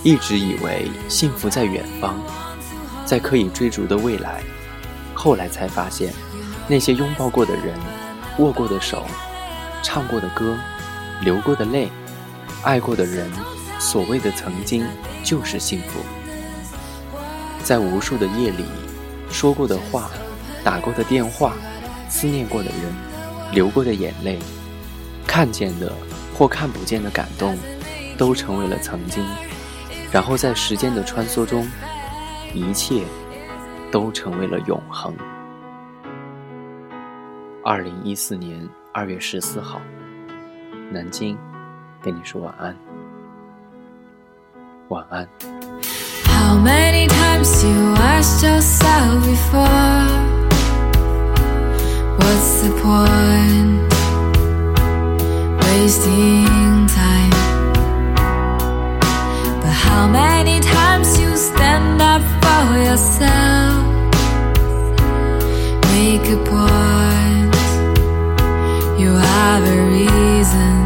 一直以为幸福在远方，在可以追逐的未来，后来才发现，那些拥抱过的人，握过的手，唱过的歌，流过的泪，爱过的人，所谓的曾经就是幸福。在无数的夜里，说过的话，打过的电话，思念过的人，流过的眼泪，看见的或看不见的感动，都成为了曾经。然后在时间的穿梭中，一切都成为了永恒。2014年2月14号，南京跟你说晚安，晚安。 How many times you asked yourself before, what's the point wasting time? But how many times you stand up for yourself, make a point, you have a reason.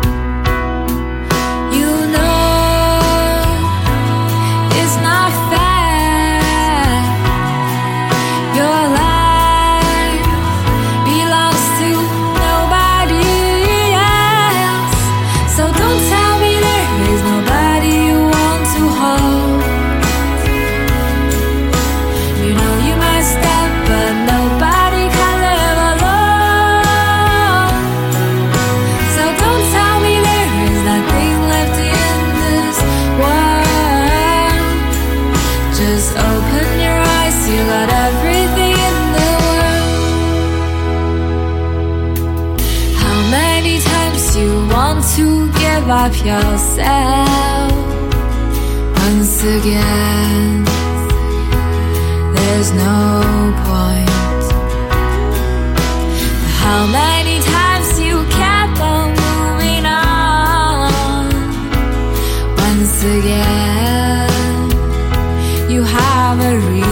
Just open your eyes, you got everything in the world. How many times you want to give up yourself? Once again, there's no point. How many times you kept on moving on? Once again, you have a reason.